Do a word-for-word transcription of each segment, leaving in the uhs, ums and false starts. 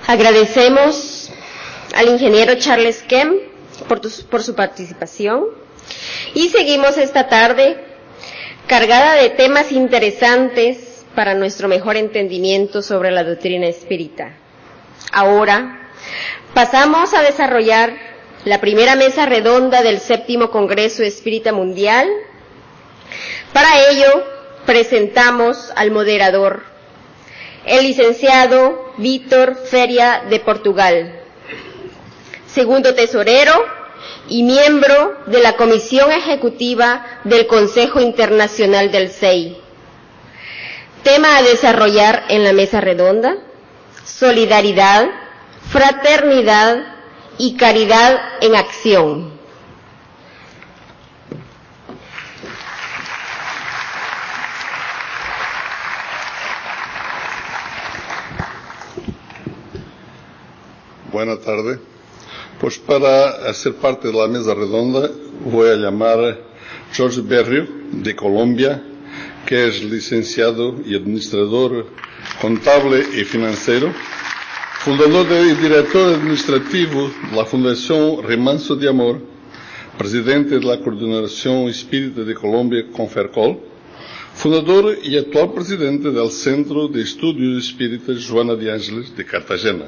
Agradecemos al ingeniero Charles Kemp por, tu, por su participación y seguimos esta tarde cargada de temas interesantes para nuestro mejor entendimiento sobre la doctrina espírita. Ahora pasamos a desarrollar la primera mesa redonda del séptimo Congreso Espírita Mundial. Para ello presentamos al moderador, el licenciado Vítor Feria de Portugal, segundo tesorero y miembro de la Comisión Ejecutiva del Consejo Internacional del S E I. Tema a desarrollar en la mesa redonda: solidaridad, fraternidad y caridad en acción. Buenas tardes. Pues para hacer parte de la mesa redonda voy a llamar a Jorge Berrio, de Colombia, que es licenciado y administrador contable y financiero, fundador y director administrativo de la Fundación Remanso de Amor, presidente de la Coordinación Espírita de Colombia, Confercol, fundador y actual presidente del Centro de Estudios Espíritas Joana de Ángeles de Cartagena.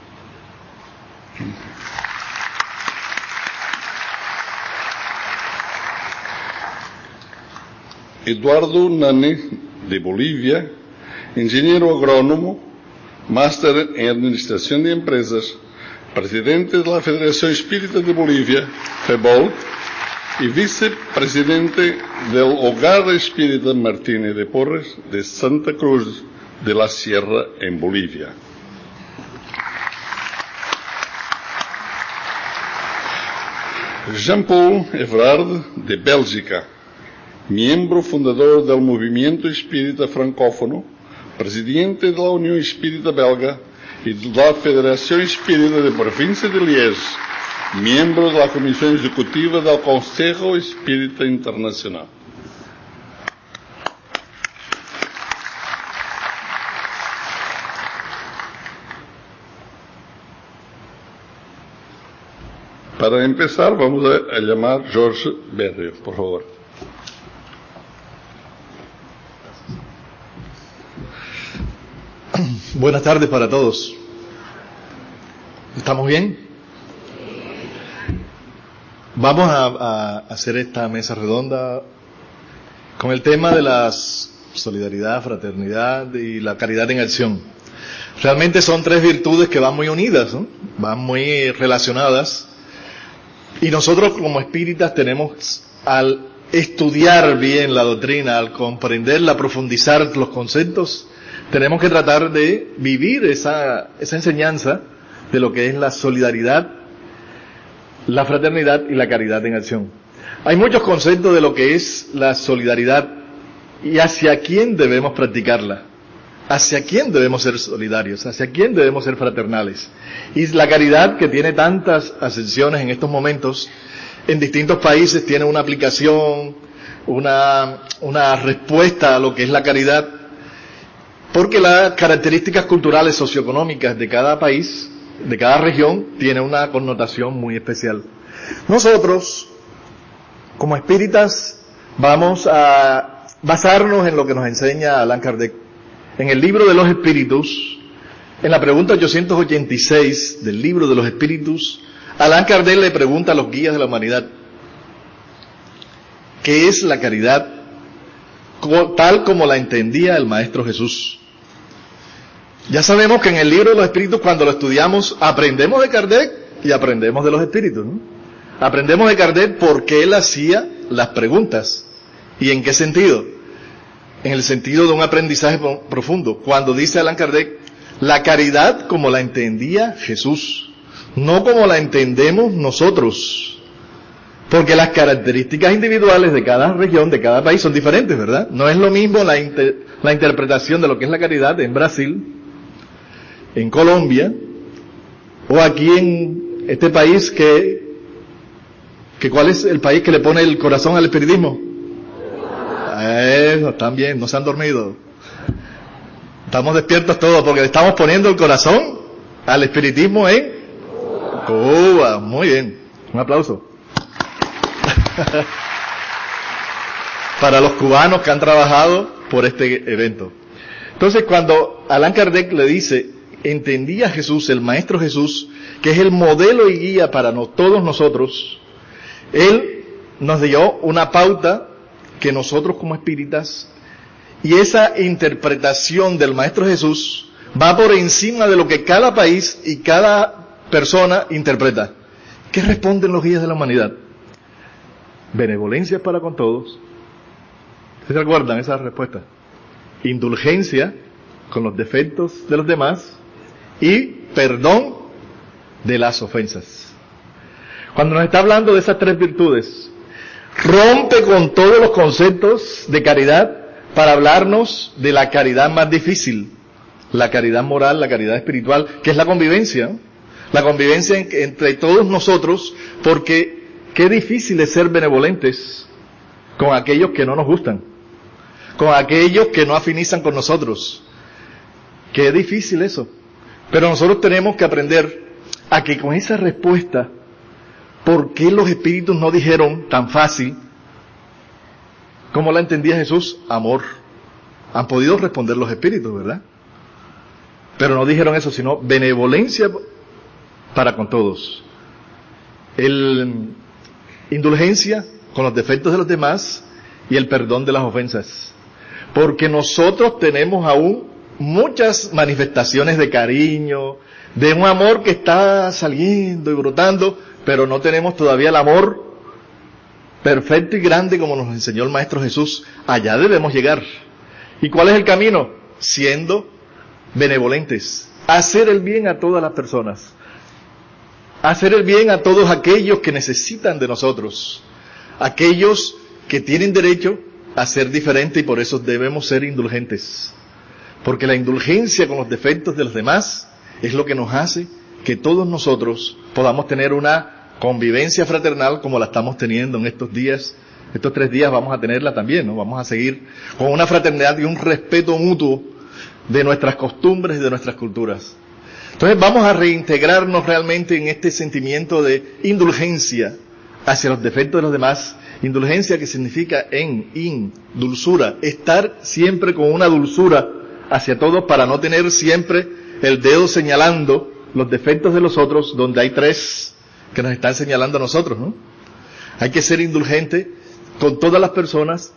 Eduardo Nani, de Bolivia, ingeniero agrónomo, máster en Administración de Empresas, presidente de la Federación Espírita de Bolivia, FEBOL, y vicepresidente del Hogar Espírita Martínez de Porres de Santa Cruz de la Sierra, en Bolivia. Jean-Paul Everard, de Bélgica, miembro fundador del Movimiento Espírita Francófono, presidente de la Unión Espírita Belga y de la Federación Espírita de Provincia de Liege, miembro de la Comisión Ejecutiva del Consejo Espírita Internacional. Para empezar, vamos a, a llamar a Jorge Berrio, por favor. Buenas tardes para todos. ¿Estamos bien? Vamos a, a hacer esta mesa redonda con el tema de la solidaridad, fraternidad y la caridad en acción. Realmente son tres virtudes que van muy unidas, ¿no? Van muy relacionadas. Y nosotros como espíritas tenemos, al estudiar bien la doctrina, al comprenderla, profundizar los conceptos, tenemos que tratar de vivir esa, esa enseñanza de lo que es la solidaridad, la fraternidad y la caridad en acción. Hay muchos conceptos de lo que es la solidaridad y hacia quién debemos practicarla, hacia quién debemos ser solidarios, hacia quién debemos ser fraternales. Y la caridad, que tiene tantas acepciones en estos momentos, en distintos países tiene una aplicación, una, una respuesta a lo que es la caridad, porque las características culturales socioeconómicas de cada país, de cada región, tiene una connotación muy especial. Nosotros, como espíritas, vamos a basarnos en lo que nos enseña Allan Kardec. En el libro de los espíritus, en la pregunta ochocientos ochenta y seis del libro de los espíritus, Allan Kardec le pregunta a los guías de la humanidad: ¿qué es la caridad tal como la entendía el Maestro Jesús? Ya sabemos que en el libro de los espíritus, cuando lo estudiamos, aprendemos de Kardec y aprendemos de los espíritus, ¿no? Aprendemos de Kardec porque él hacía las preguntas. ¿Y en qué sentido? En el sentido de un aprendizaje profundo. Cuando dice Allan Kardec, la caridad como la entendía Jesús, no como la entendemos nosotros. Porque las características individuales de cada región, de cada país, son diferentes, ¿verdad? No es lo mismo la, inter, la interpretación de lo que es la caridad en Brasil, en Colombia, o aquí en este país que, que ¿cuál es el país que le pone el corazón al espiritismo? Eso, están bien, no se han dormido. Estamos despiertos todos porque le estamos poniendo el corazón al espiritismo en Cuba. Muy bien, un aplauso. Para los cubanos que han trabajado por este evento. Entonces, cuando Allan Kardec le dice, entendía Jesús, el Maestro Jesús, que es el modelo y guía para no, todos nosotros, él nos dio una pauta que nosotros como espíritas, y esa interpretación del Maestro Jesús va por encima de lo que cada país y cada persona interpreta. ¿Qué responden los guías de la humanidad? Benevolencia para con todos. ¿Se recuerdan esa respuesta? Indulgencia con los defectos de los demás y perdón de las ofensas. Cuando nos está hablando de esas tres virtudes, rompe con todos los conceptos de caridad para hablarnos de la caridad más difícil, la caridad moral, la caridad espiritual, que es la convivencia, ¿no? La convivencia en, entre todos nosotros, porque qué difícil es ser benevolentes con aquellos que no nos gustan, con aquellos que no afinizan con nosotros. Qué difícil eso. Pero nosotros tenemos que aprender a que con esa respuesta, ¿por qué los espíritus no dijeron tan fácil como la entendía Jesús? Amor. Han podido responder los espíritus, ¿verdad? Pero no dijeron eso, sino benevolencia para con todos. El indulgencia con los defectos de los demás y el perdón de las ofensas. Porque nosotros tenemos aún muchas manifestaciones de cariño, de un amor que está saliendo y brotando, pero no tenemos todavía el amor perfecto y grande como nos enseñó el Maestro Jesús. Allá debemos llegar. ¿Y cuál es el camino? Siendo benevolentes, hacer el bien a todas las personas, hacer el bien a todos aquellos que necesitan de nosotros, aquellos que tienen derecho a ser diferentes, y por eso debemos ser indulgentes, porque la indulgencia con los defectos de los demás es lo que nos hace que todos nosotros podamos tener una convivencia fraternal como la estamos teniendo en estos días. Estos tres días vamos a tenerla también, ¿no? Vamos a seguir con una fraternidad y un respeto mutuo de nuestras costumbres y de nuestras culturas. Entonces vamos a reintegrarnos realmente en este sentimiento de indulgencia hacia los defectos de los demás. Indulgencia que significa en, in, dulzura, estar siempre con una dulzura hacia todos para no tener siempre el dedo señalando los defectos de los otros, donde hay tres que nos están señalando a nosotros, ¿no? Hay que ser indulgente con todas las personas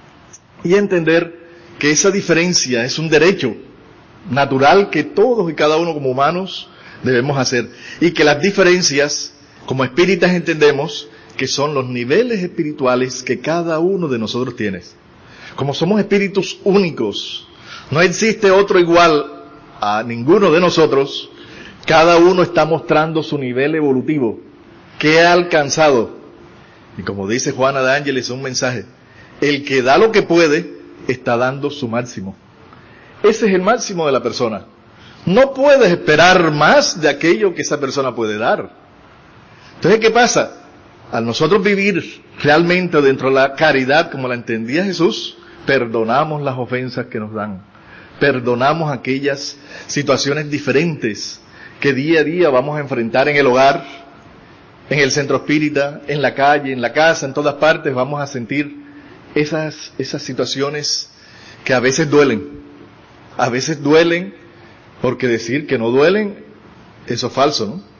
y entender que esa diferencia es un derecho natural que todos y cada uno como humanos debemos hacer, y que las diferencias como espíritas entendemos que son los niveles espirituales que cada uno de nosotros tiene. Como somos espíritus únicos, no existe otro igual a ninguno de nosotros, cada uno está mostrando su nivel evolutivo, que ha alcanzado. Y como dice Juana de Ángeles, un mensaje: el que da lo que puede, está dando su máximo. Ese es el máximo de la persona. No puedes esperar más de aquello que esa persona puede dar. Entonces, ¿qué pasa? Al nosotros vivir realmente dentro de la caridad como la entendía Jesús, perdonamos las ofensas que nos dan. Perdonamos aquellas situaciones diferentes que día a día vamos a enfrentar en el hogar, en el centro espírita, en la calle, en la casa, en todas partes vamos a sentir esas, esas situaciones que a veces duelen. A veces duelen, porque decir que no duelen, eso es falso, ¿no?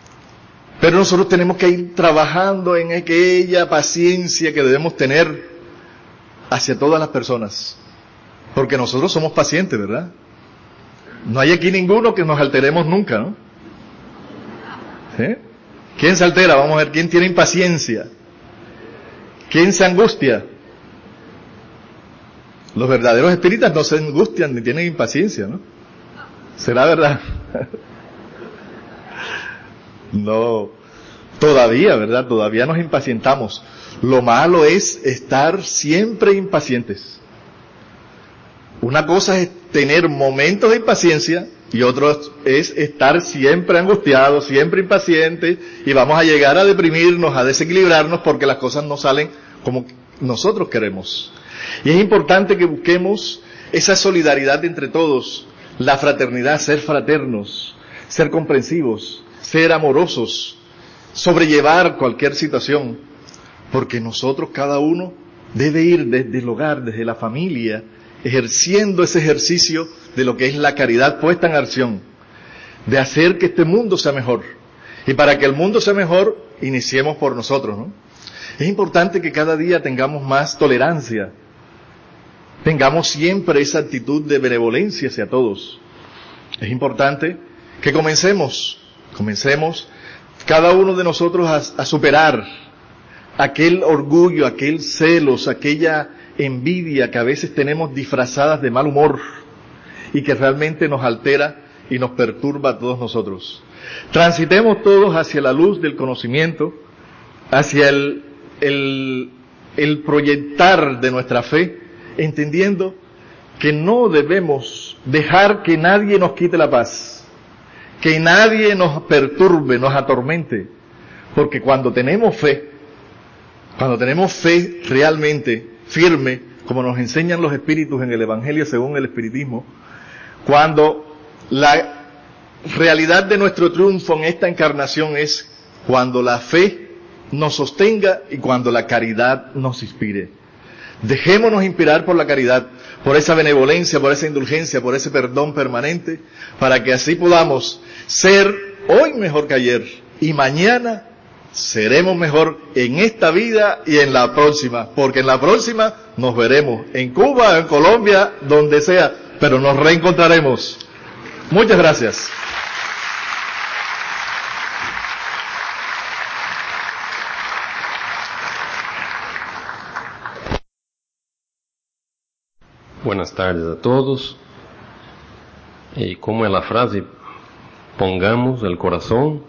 Pero nosotros tenemos que ir trabajando en aquella paciencia que debemos tener hacia todas las personas. Porque nosotros somos pacientes, ¿verdad? No hay aquí ninguno que nos alteremos nunca, ¿no? ¿Sí? ¿Quién se altera? Vamos a ver, ¿quién tiene impaciencia? ¿Quién se angustia? Los verdaderos espíritas no se angustian ni tienen impaciencia, ¿no? ¿Será verdad? No, todavía, ¿verdad? Todavía nos impacientamos. Lo malo es estar siempre impacientes. Una cosa es tener momentos de impaciencia y otro es estar siempre angustiados, siempre impacientes, y vamos a llegar a deprimirnos, a desequilibrarnos porque las cosas no salen como nosotros queremos. Y es importante que busquemos esa solidaridad entre todos, la fraternidad, ser fraternos, ser comprensivos, ser amorosos, sobrellevar cualquier situación, porque nosotros cada uno debe ir desde el hogar, desde la familia, ejerciendo ese ejercicio de lo que es la caridad puesta en acción, de hacer que este mundo sea mejor. Y para que el mundo sea mejor, iniciemos por nosotros, ¿no? Es importante que cada día tengamos más tolerancia, tengamos siempre esa actitud de benevolencia hacia todos. Es importante que comencemos, comencemos cada uno de nosotros a, a superar aquel orgullo, aquel celos, aquella envidia que a veces tenemos disfrazadas de mal humor y que realmente nos altera y nos perturba a todos nosotros. Transitemos todos hacia la luz del conocimiento, hacia el, el, el proyectar de nuestra fe, entendiendo que no debemos dejar que nadie nos quite la paz, que nadie nos perturbe, nos atormente, porque cuando tenemos fe, cuando tenemos fe realmente firme, como nos enseñan los espíritus en el Evangelio según el Espiritismo, cuando la realidad de nuestro triunfo en esta encarnación es cuando la fe nos sostenga y cuando la caridad nos inspire. Dejémonos inspirar por la caridad, por esa benevolencia, por esa indulgencia, por ese perdón permanente, para que así podamos ser hoy mejor que ayer y mañana seremos mejor en esta vida y en la próxima, porque en la próxima nos veremos en Cuba, en Colombia, donde sea, pero nos reencontraremos. Muchas gracias. Buenas tardes a todos. Y como es la frase, pongamos el corazón.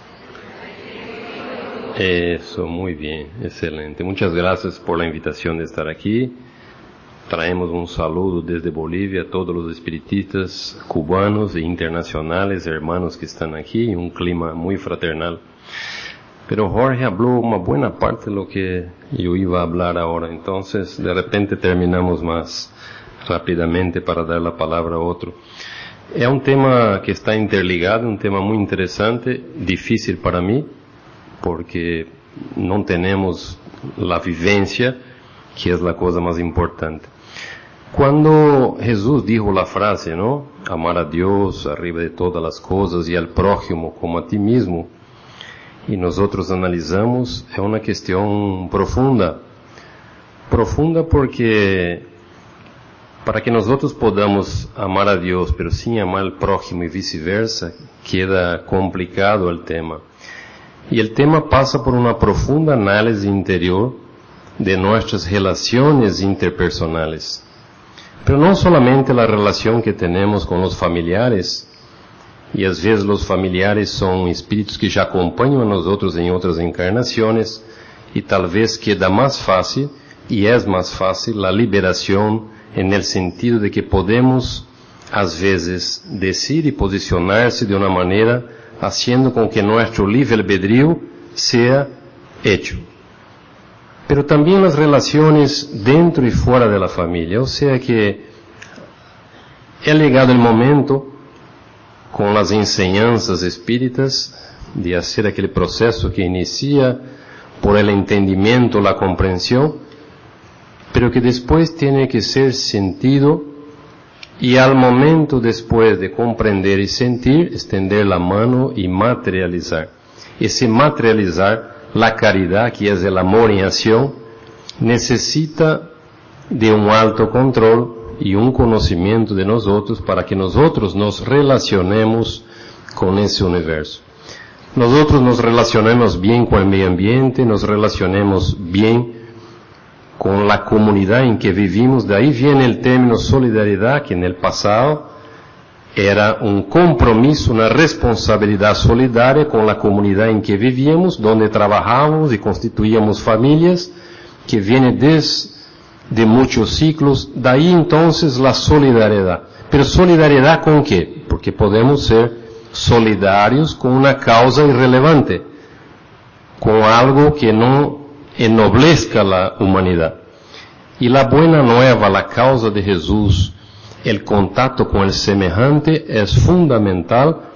Eso, muy bien, excelente. Muchas gracias por la invitación de estar aquí. Traemos un saludo desde Bolivia a todos los espiritistas cubanos e internacionales, hermanos que están aquí, un clima muy fraternal. Pero Jorge habló una buena parte de lo que yo iba a hablar ahora, entonces de repente terminamos más rápidamente para dar la palabra a otro. Es un tema que está interligado, un tema muy interesante, difícil para mí, porque no tenemos la vivencia, que es la cosa más importante. Cuando Jesús dijo la frase, ¿no? Amar a Dios arriba de todas las cosas y al prójimo como a ti mismo, y nosotros analizamos, es una cuestión profunda. Profunda porque para que nosotros podamos amar a Dios, pero sin amar al prójimo y viceversa, queda complicado el tema. Y el tema pasa por una profunda análisis interior de nuestras relaciones interpersonales. Pero no solamente la relación que tenemos con los familiares, y às vezes los familiares son espíritus que ya acompañan a nosotros en otras encarnaciones, y tal vez queda más fácil, y es más fácil, la liberación en el sentido de que podemos, às vezes, decir y posicionarse de una manera haciendo con que nuestro libre albedrío sea hecho. Pero también las relaciones dentro y fuera de la familia, o sea que ha llegado el momento, con las enseñanzas espíritas, de hacer aquel proceso que inicia por el entendimiento, la comprensión, pero que después tiene que ser sentido y al momento después de comprender y sentir, extender la mano y materializar. Ese materializar, la caridad, que es el amor en acción, necesita de un alto control y un conocimiento de nosotros para que nosotros nos relacionemos con ese universo. Nosotros nos relacionemos bien con el medio ambiente, nos relacionemos bien con la comunidad en que vivimos. De ahí viene el término solidaridad, que en el pasado era un compromiso, una responsabilidad solidaria con la comunidad en que vivíamos, donde trabajábamos y constituíamos familias, que viene desde de muchos ciclos. De ahí entonces la solidaridad. Pero solidaridad ¿con qué? Porque podemos ser solidarios con una causa irrelevante, con algo que no ennoblezca la humanidad. Y la buena nueva, la causa de Jesús, el contacto con el semejante es fundamental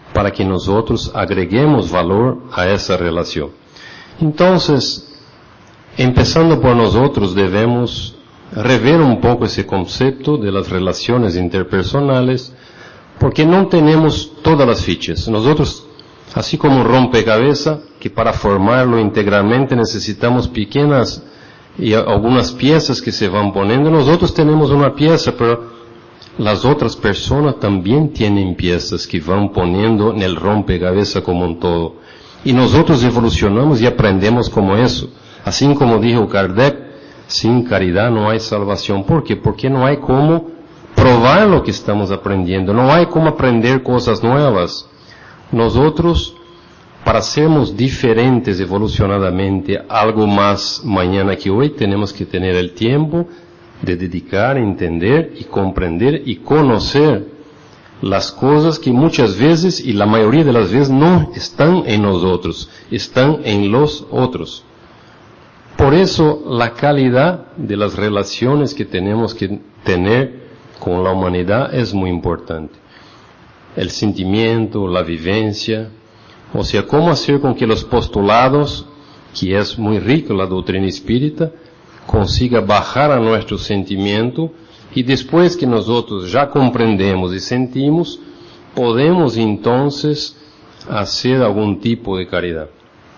para que nosotros agreguemos valor a esa relación. Entonces, empezando por nosotros, debemos rever un poco ese concepto de las relaciones interpersonales, porque no tenemos todas las fichas. Nosotros, así como un rompecabezas, que para formarlo integralmente necesitamos pequeñas y algunas piezas que se van poniendo, nosotros tenemos una pieza, pero las otras personas también tienen piezas que van poniendo en el rompecabezas como un todo. Y nosotros evolucionamos y aprendemos como eso. Así como dijo Kardec, sin caridad no hay salvación. ¿Por qué? Porque no hay cómo probar lo que estamos aprendiendo, no hay cómo aprender cosas nuevas. Nosotros, para sermos diferentes evolucionadamente, algo más mañana que hoy, tenemos que tener el tiempo de dedicar, entender y comprender y conocer las cosas que muchas veces y la mayoría de las veces no están en nosotros, están en los otros. Por eso la calidad de las relaciones que tenemos que tener con la humanidad es muy importante. El sentimiento, la vivencia, o sea, cómo hacer con que los postulados, que es muy rico la doctrina espírita, consiga bajar a nuestro sentimiento y después que nosotros ya comprendemos y sentimos, podemos entonces hacer algún tipo de caridad.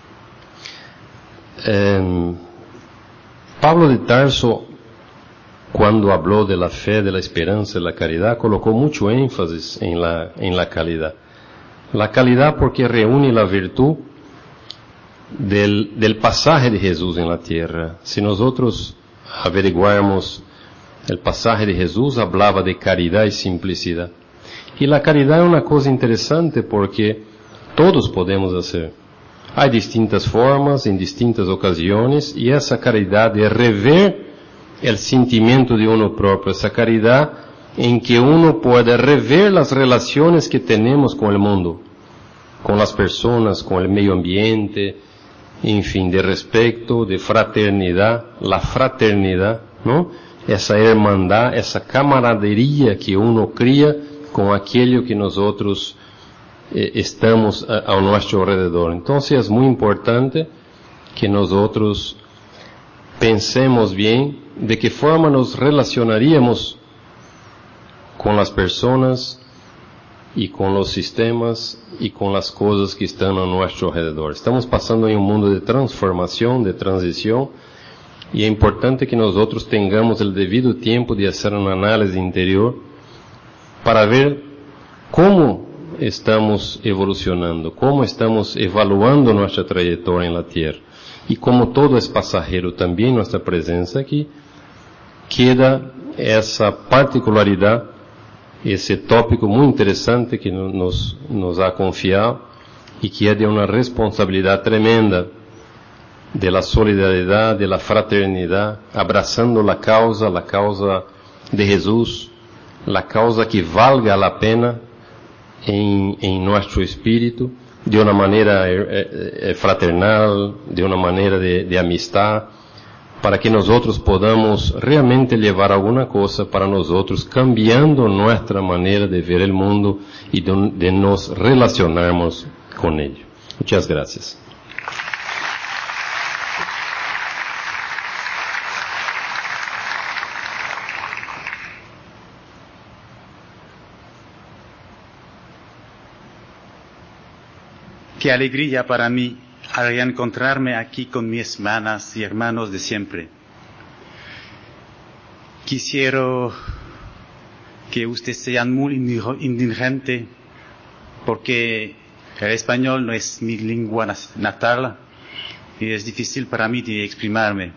Eh, Pablo de Tarso, cuando habló de la fe, de la esperanza y la caridad, colocó mucho énfasis en la, en la calidad. La calidad porque reúne la virtud del, del pasaje de Jesús en la tierra. Si nosotros averiguarmos el pasaje de Jesús, hablaba de caridad y simplicidad. Y la caridad es una cosa interesante porque todos podemos hacer. Hay distintas formas, en distintas ocasiones, y esa caridad de rever el sentimiento de uno propio, esa caridad en que uno puede rever las relaciones que tenemos con el mundo, con las personas, con el medio ambiente, en fin, de respeto, de fraternidad, la fraternidad, ¿no? Esa hermandad, esa camaradería que uno cría con aquello que nosotros eh, estamos a, a nuestro alrededor. Entonces es muy importante que nosotros pensemos bien de qué forma nos relacionaríamos con las personas y con los sistemas y con las cosas que están a nuestro alrededor. Estamos pasando en un mundo de transformación, de transición, y es importante que nosotros tengamos el debido tiempo de hacer un análisis interior para ver cómo estamos evolucionando, cómo estamos evaluando nuestra trayectoria en la Tierra. Y como todo es pasajero, también nuestra presencia aquí, queda esa particularidad, ese tópico muy interesante que nos, nos ha confiado y que es de una responsabilidad tremenda de la solidaridad, de la fraternidad, abrazando la causa, la causa de Jesús, la causa que valga la pena en, en nuestro espíritu, de una manera eh, fraternal, de una manera de, de amistad, para que nosotros podamos realmente llevar alguna cosa para nosotros, cambiando nuestra manera de ver el mundo y de, de nos relacionarnos con ello. Muchas gracias. Qué alegría para mí al encontrarme aquí con mis hermanas y hermanos de siempre. Quisiera que ustedes sean muy indulgentes porque el español no es mi lengua natal y es difícil para mí de exprimirme.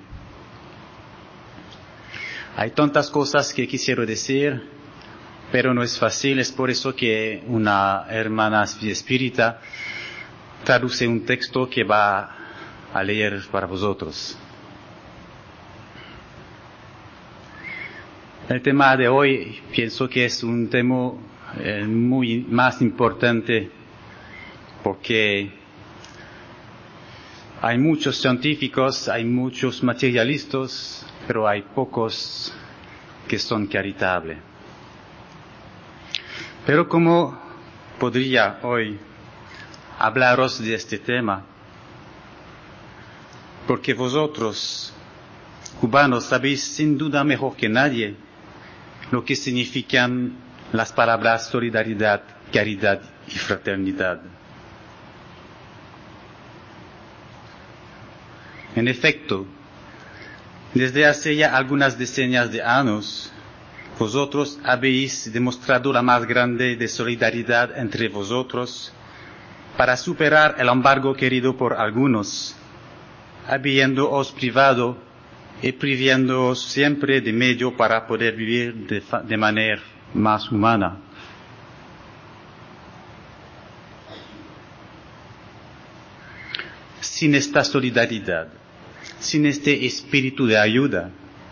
Hay tantas cosas que quisiera decir, pero no es fácil. Es por eso que una hermana espírita traduce un texto que va a leer para vosotros. El tema de hoy pienso que es un tema eh, muy más importante porque hay muchos científicos, hay muchos materialistas, pero hay pocos que son caritables. Pero como podría hoy hablaros de este tema, porque vosotros, cubanos, sabéis sin duda mejor que nadie lo que significan las palabras solidaridad, caridad y fraternidad. En efecto, desde hace ya algunas decenas de años, vosotros habéis demostrado la más grande de solidaridad entre vosotros para superar el embargo querido por algunos, habiéndoos privado y priviéndoos siempre de medio para poder vivir de, de manera más humana. Sin esta solidaridad, sin este espíritu de ayuda,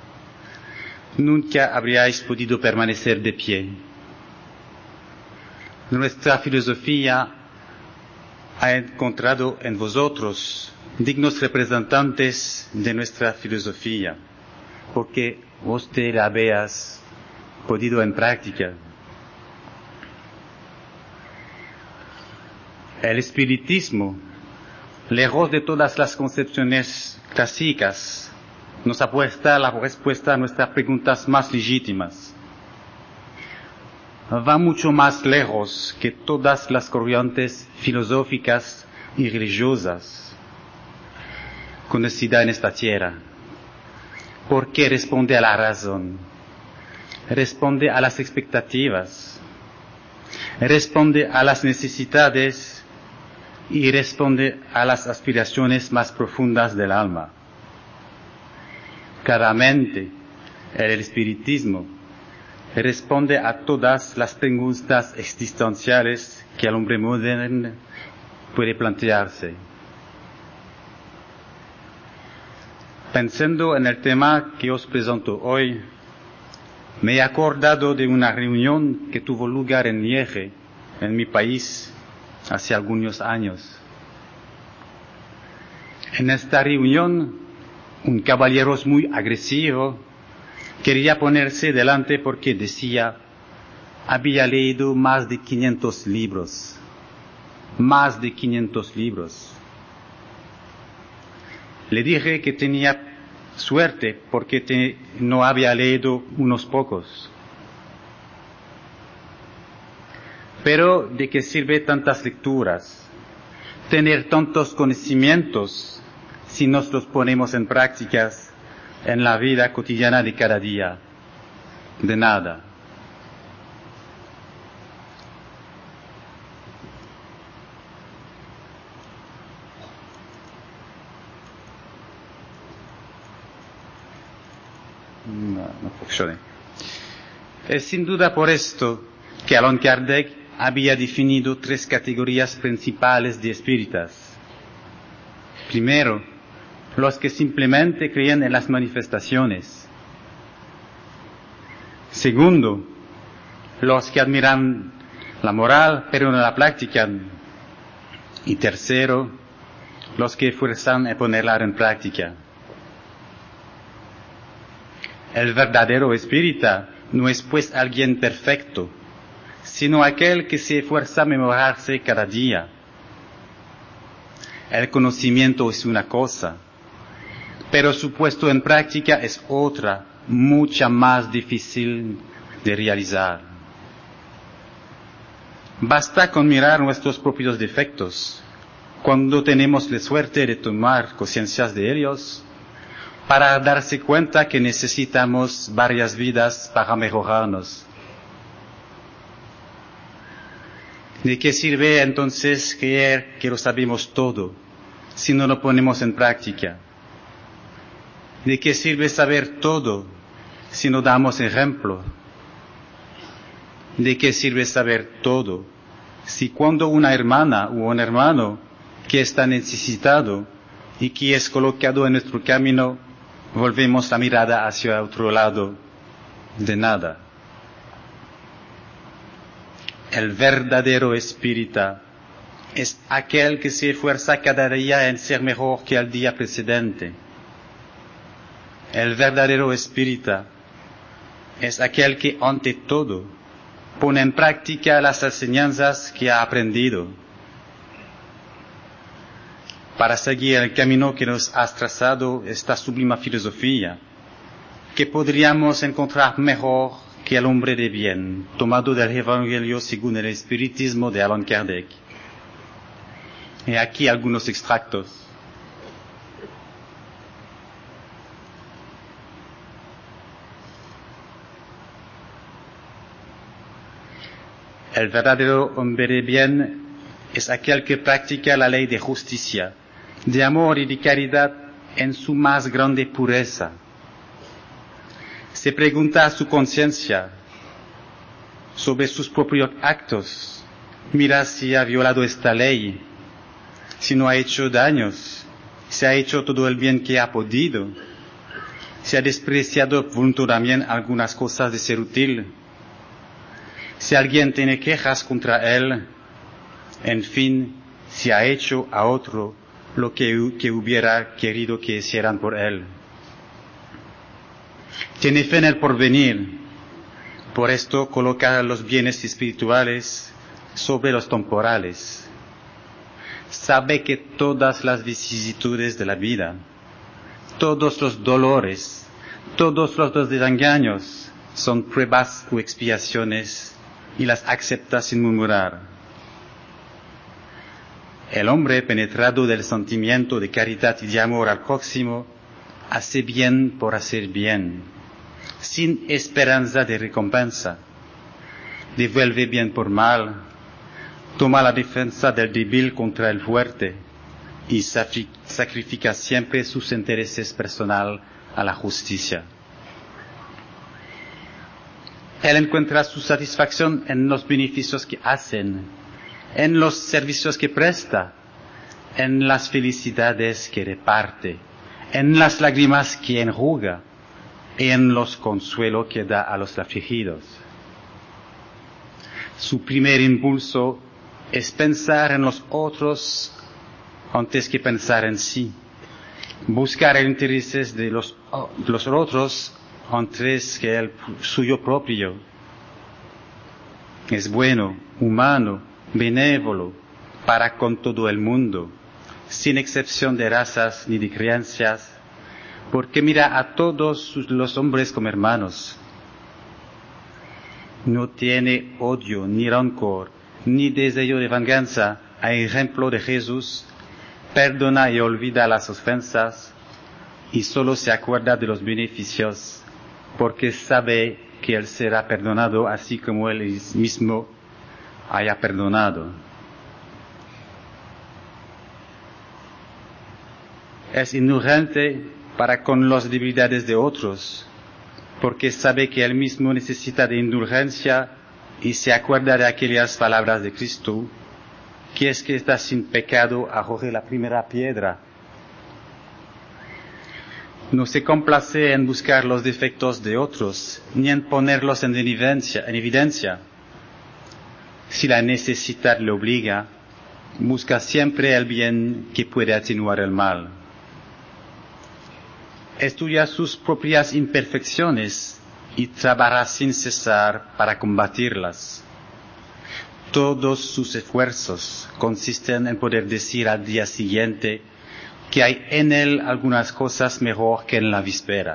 nunca habríais podido permanecer de pie. Nuestra filosofía ha encontrado en vosotros dignos representantes de nuestra filosofía, porque vos te la habéis podido en práctica. El espiritismo, lejos de todas las concepciones clásicas, nos apuesta la respuesta a nuestras preguntas más legítimas. Va mucho más lejos que todas las corrientes filosóficas y religiosas conocidas en esta tierra, porque responde a la razón, responde a las expectativas, responde a las necesidades y responde a las aspiraciones más profundas del alma. Claramente, el espiritismo responde a todas las preguntas existenciales que el hombre moderno puede plantearse. Pensando en el tema que os presento hoy, me he acordado de una reunión que tuvo lugar en Liege, en mi país, hace algunos años. En esta reunión, un caballero muy agresivo quería ponerse delante porque decía, había leído más de quinientos libros, más de quinientos libros. Le dije que tenía suerte porque te, no había leído unos pocos. Pero ¿de qué sirve tantas lecturas? Tener tantos conocimientos si nos los ponemos en prácticas en la vida cotidiana de cada día. De nada. No, no funciona. Es sin duda por esto que Allan Kardec había definido tres categorías principales de espíritas. Primero, los que simplemente creen en las manifestaciones. Segundo, los que admiran la moral pero no la practican. Y tercero, los que fuerzan a ponerla en práctica. El verdadero espírita no es pues alguien perfecto, sino aquel que se esfuerza a mejorarse cada día. El conocimiento es una cosa, pero su puesto en práctica es otra, mucha más difícil de realizar. Basta con mirar nuestros propios defectos, cuando tenemos la suerte de tomar conciencia de ellos, para darse cuenta que necesitamos varias vidas para mejorarnos. ¿De qué sirve entonces creer que lo sabemos todo si no lo ponemos en práctica? ¿De qué sirve saber todo si no damos ejemplo? ¿De qué sirve saber todo si cuando una hermana o un hermano que está necesitado y que es colocado en nuestro camino, volvemos la mirada hacia otro lado? De nada. El verdadero espírita es aquel que se esfuerza cada día en ser mejor que el día precedente. El verdadero espírita es aquel que ante todo pone en práctica las enseñanzas que ha aprendido para seguir el camino que nos ha trazado esta sublime filosofía, que podríamos encontrar mejor que el hombre de bien, tomado del Evangelio según el espiritismo de Allan Kardec. Y aquí algunos extractos. El verdadero hombre de bien es aquel que practica la ley de justicia, de amor y de caridad en su más grande pureza. Se pregunta a su conciencia sobre sus propios actos, mira si ha violado esta ley, si no ha hecho daños, si ha hecho todo el bien que ha podido, si ha despreciado voluntariamente algunas cosas de ser útil, si alguien tiene quejas contra él, en fin, si ha hecho a otro lo que, que hubiera querido que hicieran por él. Tiene fe en el porvenir, por esto coloca los bienes espirituales sobre los temporales. Sabe que todas las vicisitudes de la vida, todos los dolores, todos los desengaños son pruebas o expiaciones y las acepta sin murmurar. El hombre penetrado del sentimiento de caridad y de amor al próximo hace bien por hacer bien, sin esperanza de recompensa. Devuelve bien por mal, toma la defensa del débil contra el fuerte y sacrifica siempre sus intereses personales a la justicia. Él encuentra su satisfacción en los beneficios que hacen, en los servicios que presta, en las felicidades que reparte, en las lágrimas que enjuga y en los consuelos que da a los afligidos. Su primer impulso es pensar en los otros antes que pensar en sí, buscar el interés de los, los otros antes que el suyo propio. Es bueno, humano, benévolo para con todo el mundo, sin excepción de razas ni de creencias, porque mira a todos los hombres como hermanos. No tiene odio ni rancor, ni deseo de venganza, a ejemplo de Jesús, perdona y olvida las ofensas, y solo se acuerda de los beneficios, porque sabe que él será perdonado así como él mismo haya perdonado. Es indulgente para con las debilidades de otros, porque sabe que él mismo necesita de indulgencia y se acuerda de aquellas palabras de Cristo, que es que está sin pecado, arroje la primera piedra. No se complace en buscar los defectos de otros, ni en ponerlos en evidencia. En evidencia. Si la necesidad le obliga, busca siempre el bien que puede atenuar el mal. Estudia sus propias imperfecciones y trabaja sin cesar para combatirlas. Todos sus esfuerzos consisten en poder decir al día siguiente que hay en él algunas cosas mejor que en la víspera.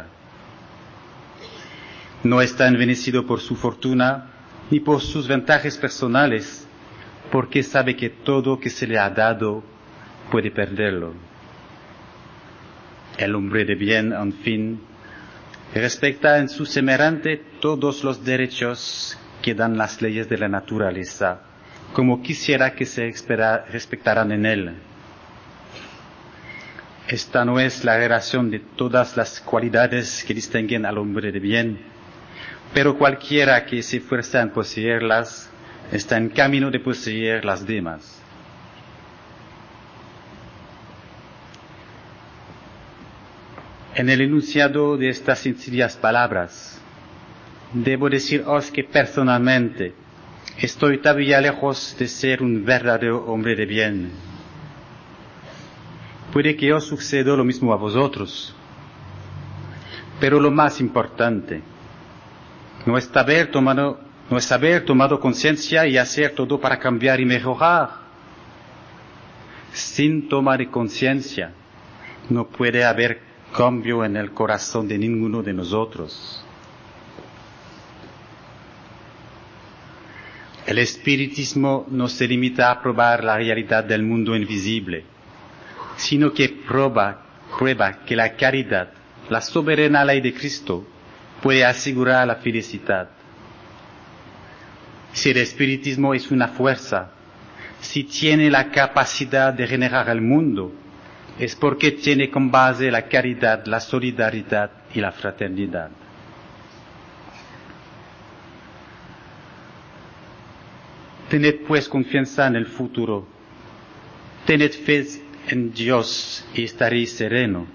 No está envenecido por su fortuna ni por sus ventajas personales, porque sabe que todo que se le ha dado puede perderlo. El hombre de bien, en fin, respeta en su semejante todos los derechos que dan las leyes de la naturaleza, como quisiera que se respetaran en él. Esta no es la relación de todas las cualidades que distinguen al hombre de bien, pero cualquiera que se esfuerza en poseerlas está en camino de poseer las demás. En el enunciado de estas sencillas palabras, debo deciros que personalmente estoy todavía lejos de ser un verdadero hombre de bien. Puede que os suceda lo mismo a vosotros, pero lo más importante no es haber tomado no es haber tomado conciencia y hacer todo para cambiar y mejorar. Sin toma de conciencia, no puede haber cambio en el corazón de ninguno de nosotros. El espiritismo no se limita a probar la realidad del mundo invisible, sino que prueba, prueba que la caridad, la soberana ley de Cristo, puede asegurar la felicidad. Si el espiritismo es una fuerza, si tiene la capacidad de generar el mundo, es porque tiene como base la caridad, la solidaridad y la fraternidad. Tened pues confianza en el futuro. Tened fe en Dios y estaréis sereno.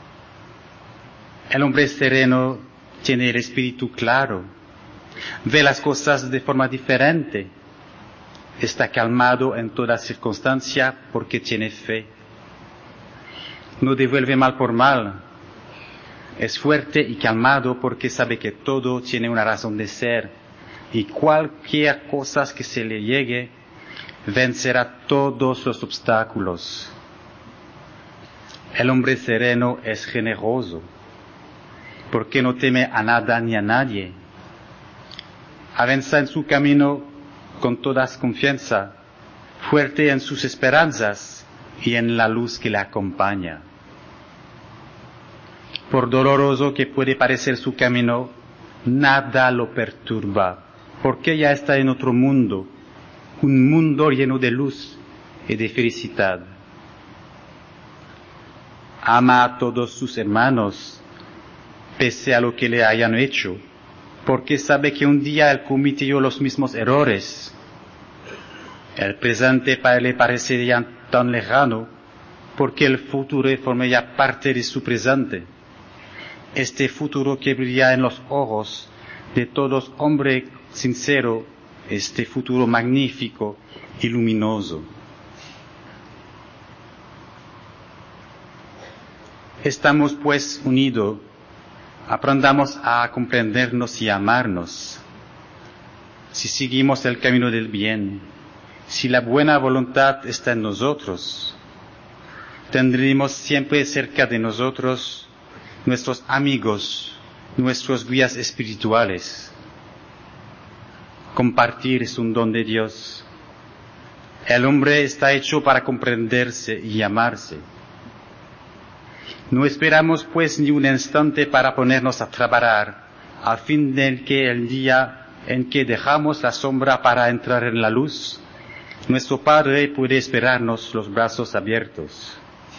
El hombre sereno tiene el espíritu claro, ve las cosas de forma diferente, está calmado en toda circunstancia porque tiene fe. No devuelve mal por mal, es fuerte y calmado porque sabe que todo tiene una razón de ser. Y cualquier cosa que se le llegue, vencerá todos los obstáculos. El hombre sereno es generoso, porque no teme a nada ni a nadie. Avanza en su camino con toda confianza, fuerte en sus esperanzas y en la luz que le acompaña. Por doloroso que puede parecer su camino, nada lo perturba, porque ya está en otro mundo, un mundo lleno de luz y de felicidad. Ama a todos sus hermanos, pese a lo que le hayan hecho, porque sabe que un día él cometió los mismos errores. El presente le parece ya tan lejano, porque el futuro forma ya parte de su presente. Este futuro que brilla en los ojos de todos hombre sincero, este futuro magnífico y luminoso. Estamos pues unidos, aprendamos a comprendernos y amarnos. Si seguimos el camino del bien, si la buena voluntad está en nosotros, tendremos siempre cerca de nosotros nuestros amigos, nuestros guías espirituales. Compartir es un don de Dios. El hombre está hecho para comprenderse y amarse. No esperamos pues ni un instante para ponernos a trabajar, a fin de que el día en que dejamos la sombra para entrar en la luz, nuestro Padre puede esperarnos los brazos abiertos.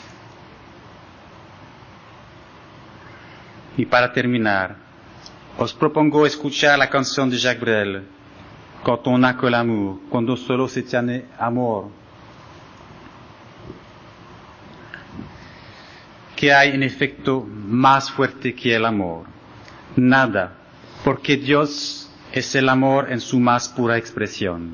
Y para terminar, os propongo escuchar la canción de Jacques Brel, Quand on n'a que l'amour, cuando solo se tiene amor. ¿Qué hay en efecto más fuerte que el amor? Nada, porque Dios es el amor en su más pura expresión.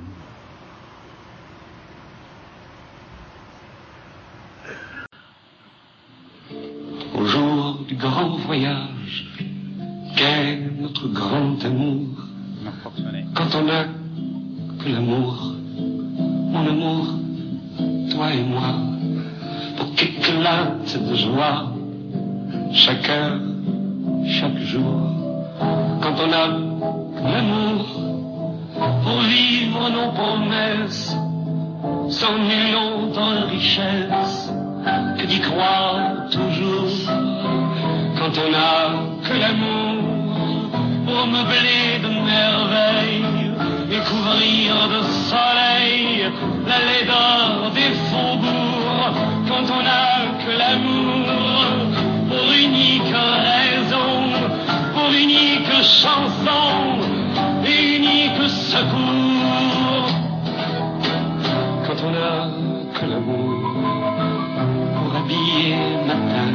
Au jour du grand voyage, qu'est notre grand amour, quand on n'a que l'amour, mon amour, toi et moi, pour qu'éclate de joie chaque heure, chaque jour, quand on a l'amour, pour vivre nos promesses, sans nulle autre richesse que d'y croire toujours, quand on a que l'amour, pour meubler de merveilles et couvrir de soleil la laideur des faubourgs, quand on a que l'amour, pour unique raison, pour unique chanson et unique secours, quand on a que l'amour, pour habiller matin,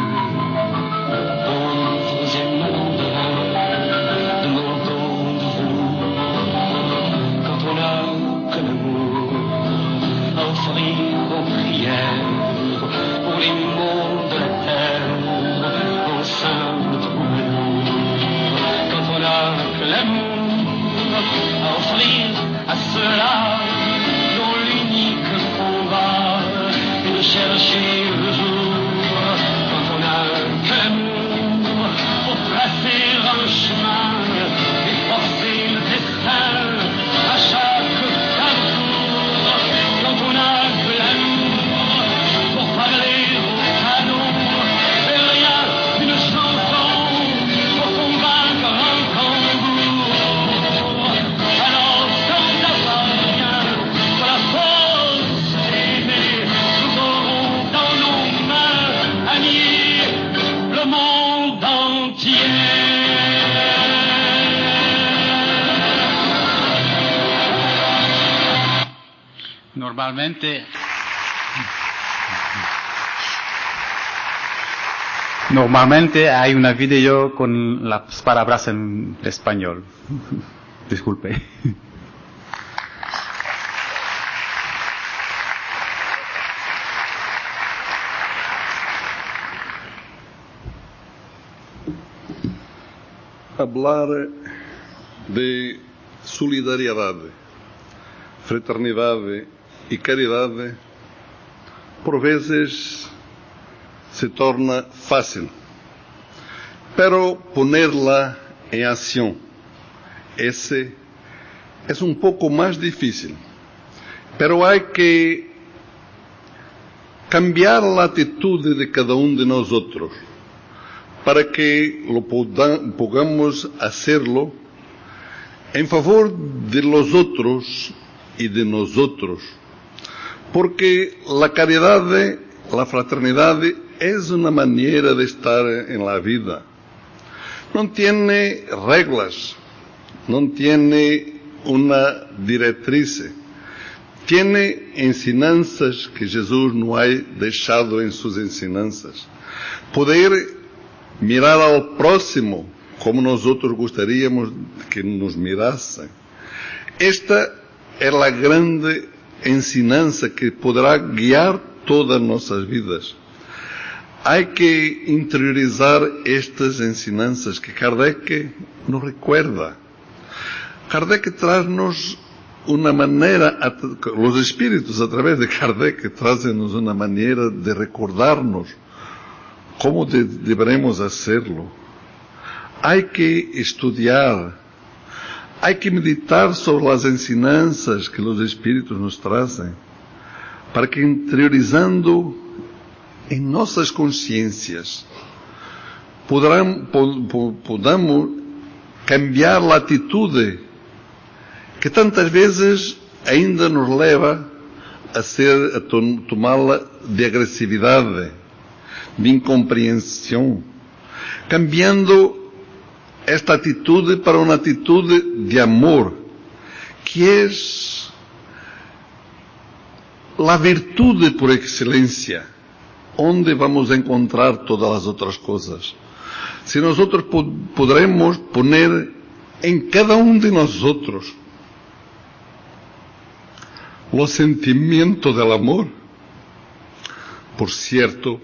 pauvres et malandrins, de manteaux de velours, quand on a que l'amour, à offrir aux prières, pour les maux de la terre, au sein de troubadour, quand on a que l'amour, à offrir là dont l'unique combat est de chercher le jour quand on n'a que l'amour pour tracer un chemin et forcer le destin à chaque carrefour quand on n'a que l'amour pour parler au canon et rien qu'une chanson pour convaincre un tambour. Alors quand ça va bien, pour la force d'aimer, nous aurons dans nos mains à nier le monde entier. Normalmente, normalmente hay una video con las palabras en español. Disculpe. Hablar de solidariedade, fraternidade e caridade, por vezes se torna fácil, pero ponerla en acción, ese es un poco más difícil. Pero hay que cambiar la actitud de cada uno de nosotros para que lo podamos hacerlo en favor de los otros y de nosotros. Porque la caridad, la fraternidad es una manera de estar en la vida. No tiene reglas, no tiene una directriz. Tiene ensinanzas que Jesús nos ha dejado en sus ensinanzas. Poder mirar al próximo como nosotros gustaríamos que nos mirasen. Esta es la grande ensinanza que podrá guiar todas nuestras vidas. Hay que interiorizar estas ensinanzas que Kardec nos recuerda. Kardec trae-nos una manera, los espíritus a través de Kardec traen-nos una manera de recordarnos cómo de, deberemos hacerlo. Hay que estudiar, hay que meditar sobre las ensinanzas que los espíritus nos trazem, para que interiorizando em nossas consciências podamos, podamos cambiar a atitude que tantas vezes ainda nos leva a ser, a tomá-la de agressividade, de incompreensão, cambiando esta atitude para uma atitude de amor, que é a virtude por excelência, onde vamos encontrar todas as outras coisas. Se nós poderemos poner em cada um de nós o sentimento del amor, por cierto,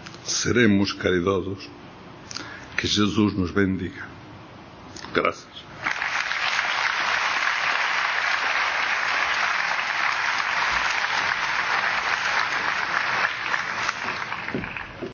seremos caridosos. Que Jesus nos bendiga. Graças.